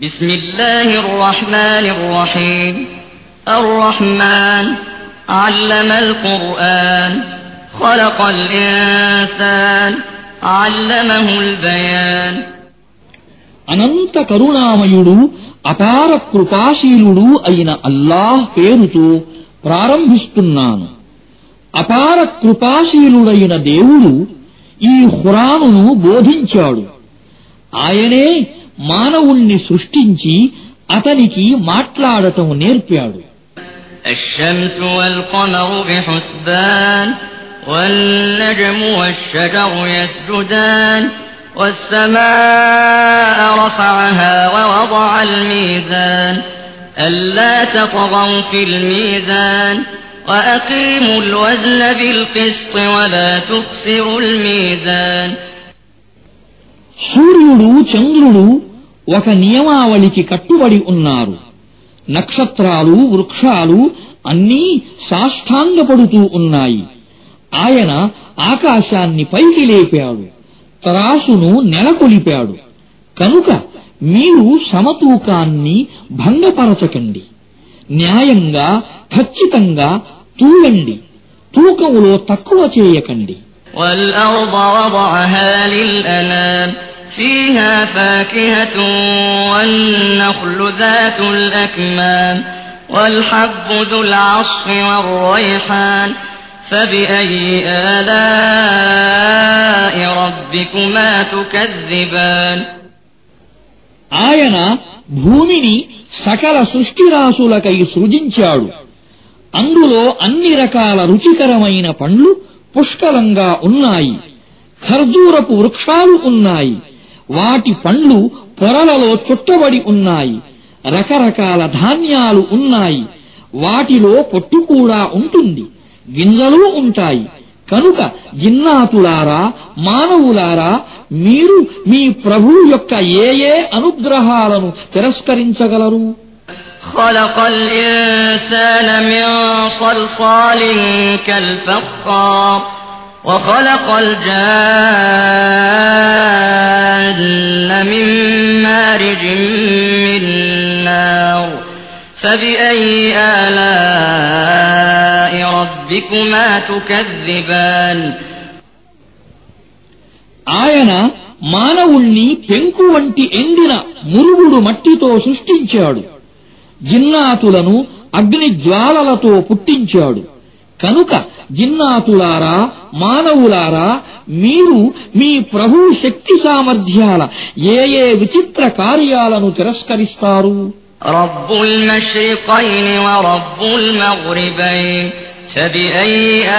بسم الله الرحمن الرحيم الرحمن علم القرآن خلق الإنسان علمه البيان అనంత కరుణామయుడు అపార కృపాశీలుడు అయిన అల్లాహ్ పేరుతో ప్రారంభిస్తున్నాను. అపార కృపాశీలుడైన దేవుడు ఈ ఖురానును బోధించాడు. ఆయనే మానవుణ్ణి సృష్టించి అతనికి మాట్లాడటం నేర్పాడు. الشمس والقمر بحسبان والنجم والشجر يسجدان والسماء رفعها ووضع الميزان ألا تطغوا في الميزان وأقيموا الوزن بالقسط ولا تخسروا الميزان సూర్యుడు చంద్రుడు ఒక నియమావళికి కట్టుబడి ఉన్నారు. నక్షత్రాలు వృక్షాలు అన్నీ సాష్టాంగపడుతూ ఉన్నాయి. ఆయన ఆకాశాన్ని పైకి లేపాడు, తరాసును నెలకొలిపాడు. కనుక మీరు సమతూకాన్ని భంగపరచకండి. న్యాయంగా ఖచ్చితంగా తూయండి, తూకములో తక్కువ చేయకండి. والأرض وضعها للأنام فيها فاكهة والنخل ذات الأكمام والحب ذو العصف والريحان فبأي آلاء ربكما تكذبان ఆయన భూమిని సకల సృష్టిరాశులకై సృజించాడు. అందులో అన్ని రకాల రుచికరమైన పండ్లు పుష్కలంగా ఉన్నాయి. ఖర్జూరపు వృక్షాలు ఉన్నాయి. వాటి పండ్లు పొరలలో చుట్టబడి ఉన్నాయి. రకరకాల ధాన్యాలు ఉన్నాయి. వాటిలో పొట్టు కూడా ఉంటుంది, గింజలు ఉంటాయి. కనుక జిన్నాతులారా, మానవులారా, మీరు మీ ప్రభువు యొక్క ఏ ఏ అనుగ్రహాలను తిరస్కరించగలరు? خلق الإنسان من صلصال كالفخار وخلق الجان من مارج من نار فبأي آلاء ربكما تكذبان ఆయన మానవుణ్ణి పెంకు వంటి ఎండిన మురుగుడు మట్టితో సృష్టించాడు. జిన్నాతులను అగ్ని జ్వాలలతో పుట్టించాడు. కనుక జిన్నాతులారా, మానవులారా, మీరు మీ ప్రభు శక్తి సామర్థ్యాల ఏ ఏ విచిత్ర కార్యాలను తిరస్కరిస్తారు? రబ్బుల్ మష్రికైన్ వ రబ్బుల్ మగ్రిబైన్ ఫబిఐ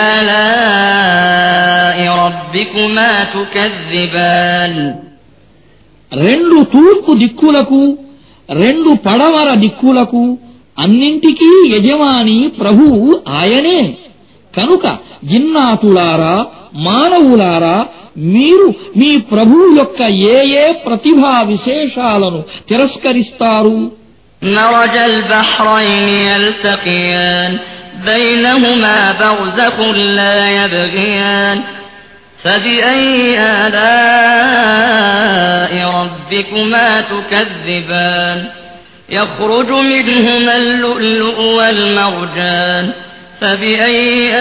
ఆలాఇ రబ్బికుమా తుకజ్జిబాన్. రెండు తూర్పు దిక్కులకు, రెండు పడమర దిక్కులకు అన్నింటికీ యజమాని ప్రభువు ఆయనే. కనుక జిన్నాతులారా, మానవులారా, మీరు మీ ప్రభువు యొక్క ఏ ఏ ప్రతిభా విశేషాలను తిరస్కరిస్తారు? మరజల్ బహ్రైన్ యల్తఖియాన్ బైనహుమా బర్జఖున్ లా యబ్ఘియాన్ فبأي آلاء ربكما تكذبان يخرج منهما اللؤلؤ والمرجان فبأي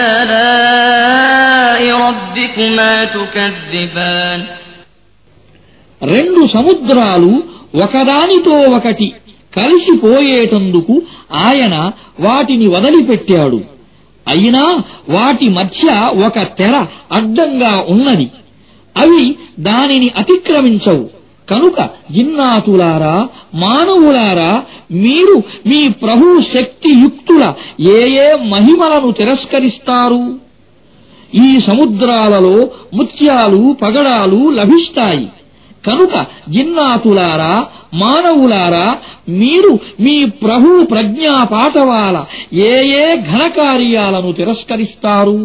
آلاء ربكما تكذبان రెండు సముద్రాలు ఒకదానితో ఒకటి కలిసిపోయేటందుకు ఆయన వాటిని వదిలిపెట్టాడు. అయినా వాటి మధ్య ఒక తెర అడ్డంగా ఉన్నది. అవి దానిని అతిక్రమించవు. కనుక జిన్నాతులారా, మానవులారా, మీరు మీ ప్రభు శక్తియుక్తుల ఏ ఏ మహిమలను తిరస్కరిస్తారు? ఈ సముద్రాలలో ముత్యాలు, పగడాలు లభిస్తాయి. కనుక జిన్నాతులారా, మానవులారా, మీరు మీ ప్రభు ప్రజ్ఞా పాఠవాల ఏ ఏ ఘనకార్యాలను తిరస్కరిస్తారు?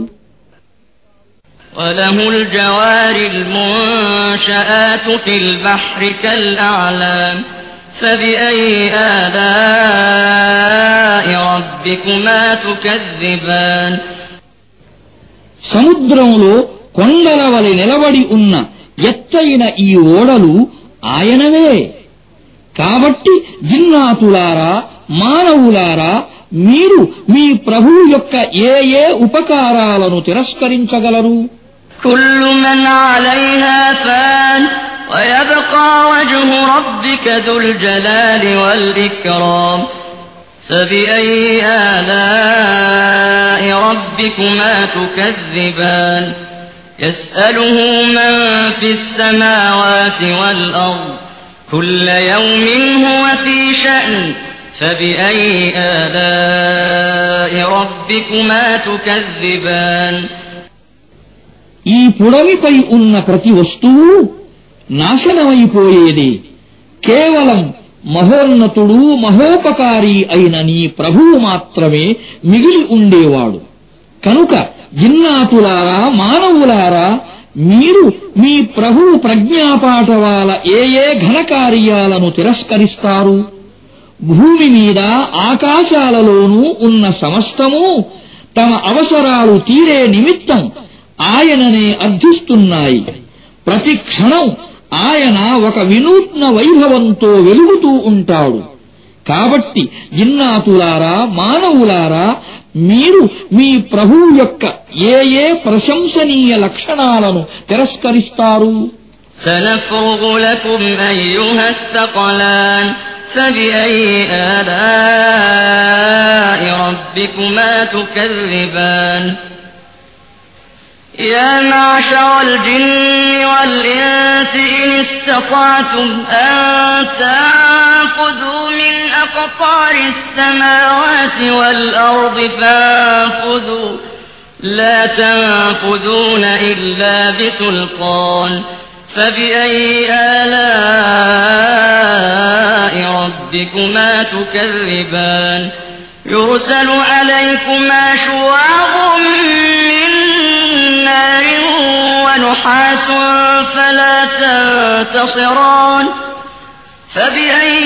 وله الجوار المنشآت في البحر كالأعلام فبأي آلاء ربكما تكذبان. సముద్రంలో కొండల వలె నిలబడి ఉన్న ఎత్తైన ఈ ఓడలు ఆయనవే. కాబట్టి జిన్నాతులారా, మానవులారా, మీరు మీ ప్రభువు యొక్క ఏ ఏ ఉపకారాలను తిరస్కరించగలరు? كل من عليها فان ويبقى وجه ربك ذو الجلال والإكرام فبأي آلاء ربكما تكذبان يسأله من في السماوات والأرض كل يوم هو في شأن فبأي آلاء ربكما تكذبان ఈ పుడమిపై ఉన్న ప్రతి వస్తువు నాశనమైపోయేదే. కేవలం మహోన్నతుడు, మహోపకారి అయిన నీ ప్రభువు మాత్రమే మిగిలి ఉండేవాడు. కనుక జిన్నాతులారా, మానవులారా, మీరు మీ ప్రభువు ప్రజ్ఞాపాఠవాల ఏ ఏ ఘనకార్యాలను తిరస్కరిస్తారు? భూమి మీద, ఆకాశాలలోనూ ఉన్న సమస్తము తమ అవసరాలు తీరే నిమిత్తం ఆయననే అర్థిస్తున్నాయి. ప్రతి క్షణం ఆయన ఒక వినూత్న వైభవంతో వెలుగుతూ ఉంటాడు. కాబట్టి జిన్నాతులారా, మానవులారా, మీరు మీ ప్రభువు యొక్క ఏ ఏ ప్రశంసనీయ లక్షణాలను తిరస్కరిస్తారు? سنفرغ لكم أيها الثقلان فبأي آلاء ربكما تكذبان يا معشر الجن والإنس إن استطعتم أن تنفذوا من أقطار السماوات والأرض فانفذوا لا تنفذون إلا بسلطان فبأي آلاء ربكما تكذبان يرسل عليكما شواظ من نار ونحاس فلا تنتصران فبأي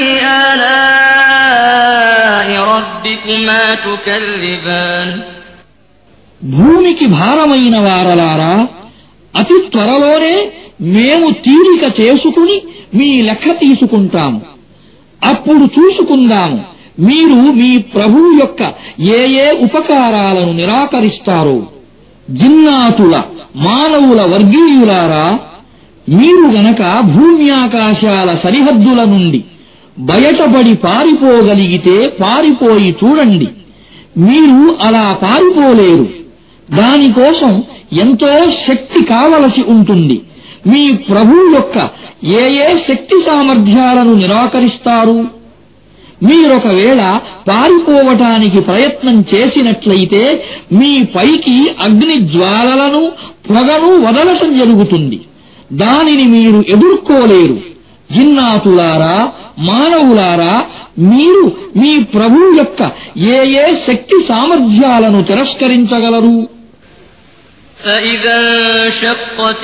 آلاء ربكما تكذبان భూమికి భారమైన వారలారా, అతి త్వరలోనే మేము తీరిక చేసుకుని మీ లెక్క తీసుకుంటాము. అప్పుడు చూసుకుందాము మీరు మీ ప్రభువు యొక్క ఏ ఏ ఉపకారాలను నిరాకరిస్తారో. జిన్నాతుల, మానవుల వర్గీయులారా, మీరు గనక భూమ్యాకాశాల సరిహద్దుల నుండి బయటపడి పారిపోగలిగితే పారిపోయి చూడండి. మీరు అలా పారిపోలేరు. దానికోసం ఎంతో శక్తి కావలసి ఉంటుంది. మీ ప్రభువు యొక్క ఏ ఏ శక్తి సామర్థ్యాలను నిరాకరిస్తారు? మీరొకవేళ పారిపోవటానికి ప్రయత్నం చేసినట్లయితే మీ పైకి అగ్ని జ్వాలలను, పొగను వదలటం జరుగుతుంది. దానిని మీరు ఎదుర్కోలేరు. జిన్నాతులారా, మానవులారా, మీరు మీ ప్రభువు యొక్క ఏ ఏ శక్తి సామర్థ్యాలను తిరస్కరించగలరు? فإذا انشقت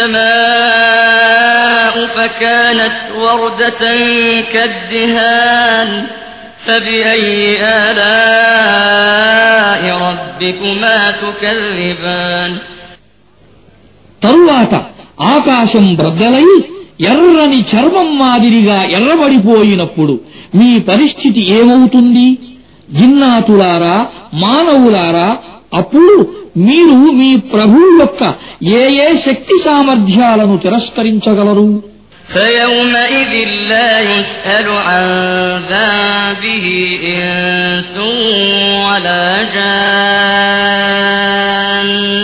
السماء فكانت وردة كالدهان فبأي آلاء ربكما تكذبان తరువాత ఆకాశం బ్రద్దలై ఎర్రని చర్మం మాదిరిగా ఎర్రబడిపోయినప్పుడు మీ పరిస్థితి ఏమవుతుంది? జిన్నాతులారా, మానవులారా, అప్పుడు మీరు మీ ప్రభువు యొక్క ఏ ఏ శక్తి సామర్థ్యాలను తిరస్కరించగలరు? فيومئذ لا يسأل عن ذنبه إنس ولا جان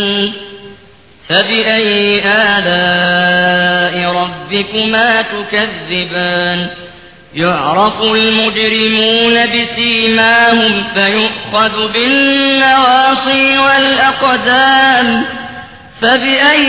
فبأي آلاء ربكما تكذبان يعرف المجرمون بسيماهم فيؤخذ بالنواصي والأقدام فبأي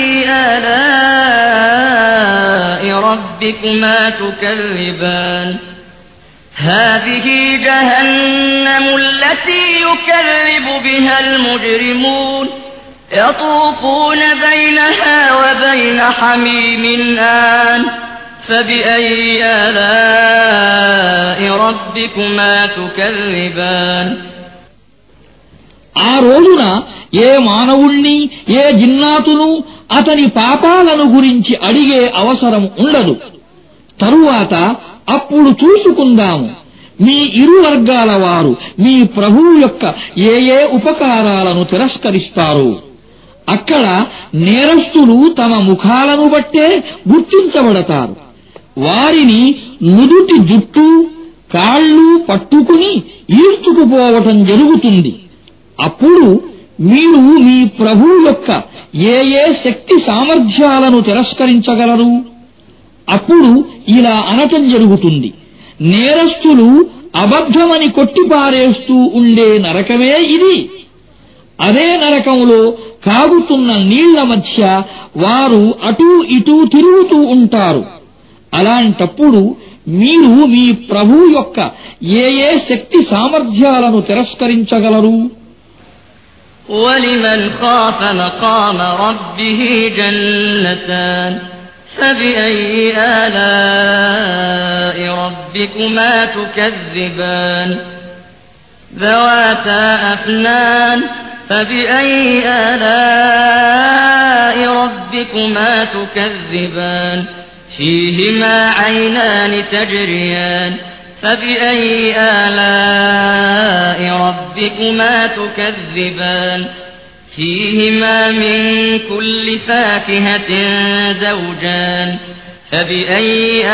آلاء ربكما تكذبان هذه جهنم التي يكذب بها المجرمون يطوفون بينها وبين حميم آن فبأي آلاء ربكما تكذبان ఆ రోజున ఏ మానవుణ్ణి, ఏ జిన్నాతును అతని పాపాలను గురించి అడిగే అవసరం ఉండదు. తరువాత అప్పుడు చూసుకుందాము మీ ఇరు వర్గాల వారు మీ ప్రభువు యొక్క ఏ ఏ ఉపకారాలను తిరస్కరిస్తారు. అక్కడ నేరస్తులు తమ ముఖాలను బట్టే గుర్తించబడతారు. వారిని నుదుటి జుట్టు కాళ్ళు పట్టుకుని ఈడ్చుకుపోవటం జరుగుతుంది. అప్పుడు మీరు మీ ప్రభువు యొక్క ఏ ఏ శక్తి సామర్థ్యాలను తిరస్కరించగలరు? అప్పుడు ఇలా అనటం జరుగుతుంది, నేరస్తులు అబద్ధమని కొట్టిపారేస్తూ ఉండే నరకమే ఇది. అదే నరకంలో కాగుతున్న నీళ్ల మధ్య వారు అటూ ఇటూ తిరుగుతూ ఉంటారు. అలాంటప్పుడు మీరు మీ ప్రభువు యొక్క ఏ ఏ శక్తి సామర్థ్యాలను తిరస్కరించగలరు? وَلِمَنْ خَافَ مَقَامَ رَبِّهِ جَنَّتَانِ فَبِأَيِّ آلَاءِ رَبِّكُمَا تُكَذِّبَانِ ذَوَاتَا أَفْنَانٍ فَبِأَيِّ آلَاءِ رَبِّكُمَا تُكَذِّبَانِ فِيهِمَا عَيْنَانِ تَجْرِيَانِ فَبِأَيِّ آلَاءِ رَبِّكُمَا تُكَذِّبَانِ فِيهِمَا مِن كُلِّ فَاكِهَةٍ زَوْجَانِ فَبِأَيِّ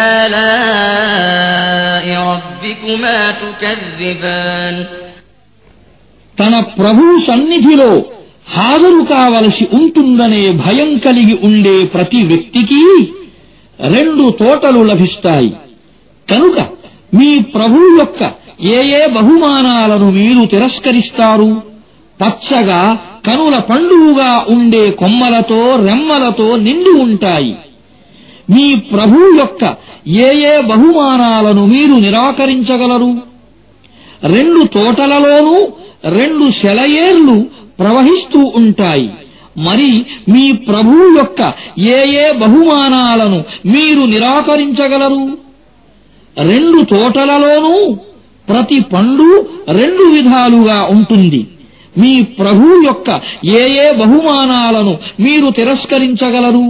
آلَاءِ رَبِّكُمَا تُكَذِّبَانِ తన ప్రభువు సన్నిధిలో హాజరు కావలసి ఉంటుందనే భయం కలిగి ఉండే ప్రతి వ్యక్తికి 2 తోటలు లభిస్తాయి. కనుక మీ ప్రభువు యొక్క ఏ ఏ బహుమానాలను మీరు తిరస్కరిస్తారు? పచ్చగా కనుల పండువుగా ఉండే కొమ్మలతో రెమ్మలతో నిండి ఉంటాయి. మీ ప్రభువు యొక్క ఏ ఏ బహుమానాలను మీరు నిరాకరించగలరు? 2 తోటలలోనూ 2 సెలయేర్లు ప్రవహిస్తూ ఉంటాయి. మరి మీ ప్రభువు యొక్క ఏ ఏ బహుమానాలను మీరు నిరాకరించగలరు? 2 తోటలలోనూ ప్రతి పండు 2 విధాలుగా ఉంటుంది. మీ ప్రభువు యొక్క ఏ ఏ బహుమానాలను మీరు తిరస్కరించగలరు?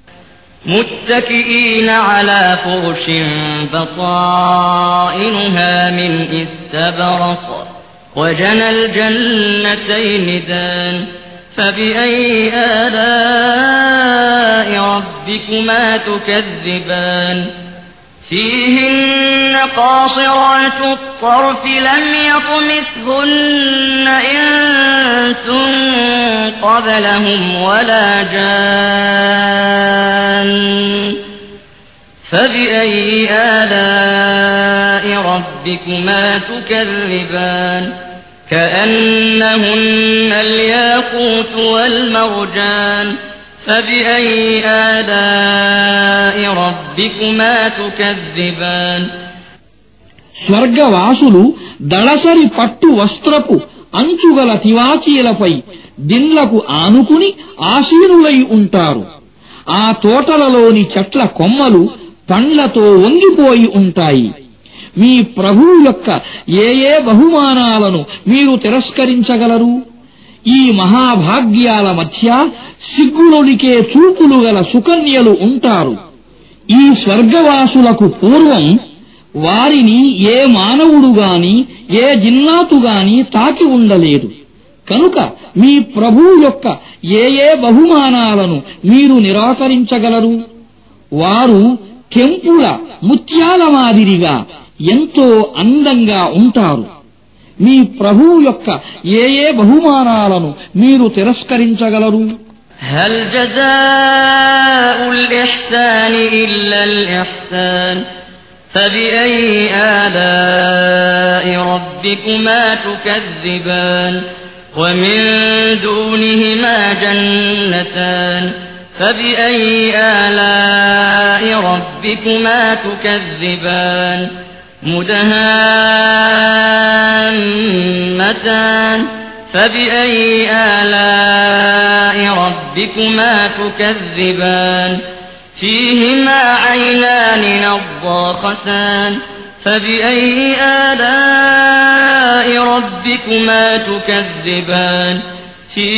متكئين على فرش بطائنها من استبرق وجنى الجنتين دان فبأي آلاء ربكما تكذبان فيهن قاصرات الطرف لم يطمثهن إنس قبلهم ولا جان فبأي آلاء ربكما تكذبان كأنهن الياقوت والمرجان فبأي آلاء ربكما تكذبان స్వర్గవాసులు దళసరి పట్టు వస్త్రపు అంచుగల తివాచీలపై దిండ్లకు ఆనుకుని ఆసీనులై ఉంటారు. ఆ తోటలలోని చెట్ల కొమ్మలు పండ్లతో వంగిపోయి ఉంటాయి. మీ ప్రభువు యొక్క ఏ ఏ బహుమానాలను మీరు తిరస్కరించగలరు? ఈ మహాభాగ్యాల మధ్య సిగ్గులొలికే చూపులు గల సుకన్యలు ఉంటారు. ఈ స్వర్గవాసులకు పూర్వం వారిని ఏ మానవుడు గాని ఏ జిన్నాతు గాని తాకి ఉండలేదు. కనుక మీ ప్రభువు యొక్క ఏ ఏ బహుమానాలను మీరు నిరాకరించగలరు? వారు కెంపుల ముత్యాల మాదిరిగా ఎంతో అందంగా ఉంటారు. మీ ప్రభువు యొక్క ఏ ఏ బహుమానాలను మీరు తిరస్కరించగలరు? هل جزاء الإحسان إلا الإحسان فبأي آلاء ربكما تكذبان ومن دونهما جنتان فبأي آلاء ربكما تكذبان مدهامتان فبأي آلاء ربكما تكذبان فيهما عينان نضاختان فبأي آلاء ربكما تكذبان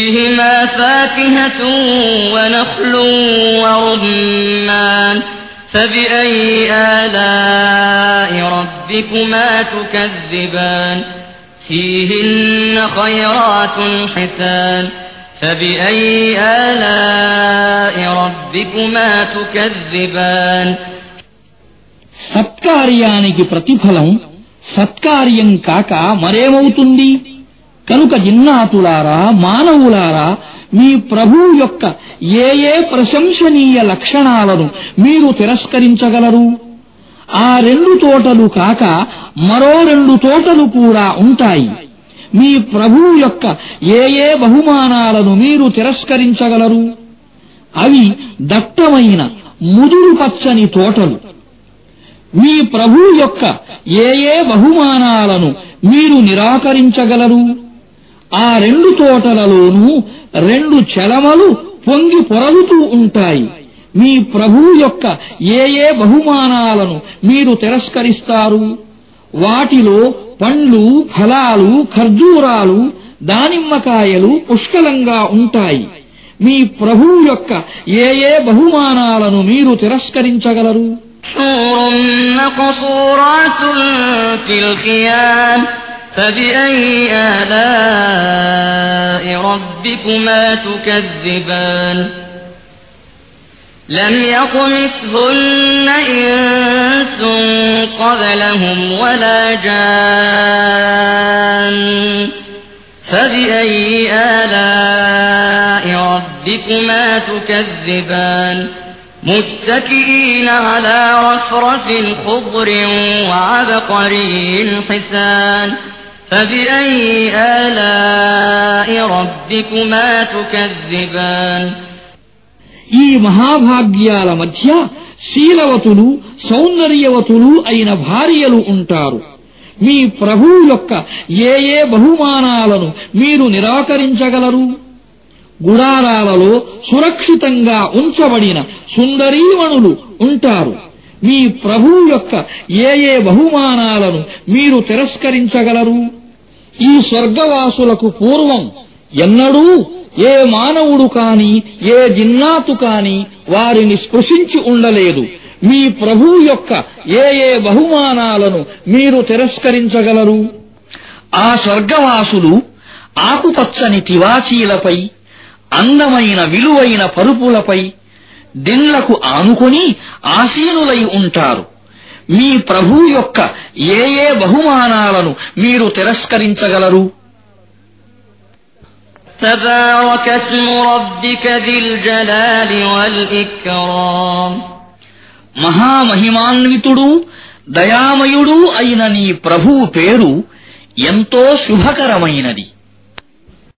فيهما فاكهة ونخل ورمان فبأي آلاء ربكما تكذبان فيهن خيرات حسان فبأي آلاء ربكما تكذبان సత్కార్యానికి ప్రతిఫలం సత్కార్యం కాక మరేమవుతుంది? కనుక జిన్నాతులారా, మానవులారా, మీ ప్రభువు యొక్క ఏ ఏ ప్రశంసనీయ లక్షణాలను మీరు తిరస్కరించగలరు? ఆ 2 తోటలు కాక మరో 2 తోటలు కూడా ఉంటాయి. మీ ప్రభువు యొక్క ఏ ఏ బహుమానాలను మీరు తిరస్కరించగలరు? అవి దట్టమైన ముదురు పచ్చని తోటలు. మీ ప్రభువు యొక్క ఏ ఏ బహుమానాలను మీరు నిరాకరించగలరు? ఆ 2 తోటలలోనూ 2 చెలమలు పొంగి పొరలుతూ ఉంటాయి. మీ ప్రభువు యొక్క ఏ ఏ బహుమానాలను మీరు తిరస్కరిస్తారు? వాటిలో పండ్లు, ఫలాలు, ఖర్జూరాలు, దానిమ్మకాయలు పుష్కలంగా ఉంటాయి. మీ ప్రభువు యొక్క ఏ ఏ బహుమానాలను మీరు తిరస్కరించగలరు? حور مقصورات في الخيام فبأي آلاء ربكما تكذبان لم يطمثهن إنس قبلهم ولا جان فبأي آلاء ربكما تكذبان متكئين على رفرف خضر وعبقري حسان فبأي آلاء ربكما تكذبان ఈ మహాభాగ్యాల మధ్య శీలవతులు, సౌందర్యవతులు అయిన భార్యలు ఉంటారు. మీ ప్రభువు యొక్క ఏ ఏ బహుమానాలను మీరు నిరాకరించగలరు? గుడారాలలో సురక్షితంగా ఉంచబడిన సుందరీమణులు ఉంటారు. మీ ప్రభువు యొక్క ఏ ఏ బహుమానాలను మీరు తిరస్కరించగలరు? ఈ స్వర్గవాసులకు పూర్వం ఎన్నడూ ఏ మానవుడు కాని, ఏ జిన్నాతు కాని వారిని స్పృశించి ఉండలేదు. మీ ప్రభువు యొక్క ఏ ఏ బహుమానాలను మీరు తిరస్కరించగలరు? ఆ స్వర్గవాసులు ఆకుపచ్చని తివాచీలపై, అందమైన విలువైన పరుపులపై, దిండ్లకు ఆనుకొని ఆసీనులై ఉంటారు. మీ ప్రభువు యొక్క ఏ ఏ బహుమానాలను మీరు తిరస్కరించగలరు? تبارك اسم ربك ذي الجلال والإكرام మహామహిమాన్వితుడు, దయామయుడు అయిన నీ ప్రభువు పేరు ఎంతో శుభకరమైనది.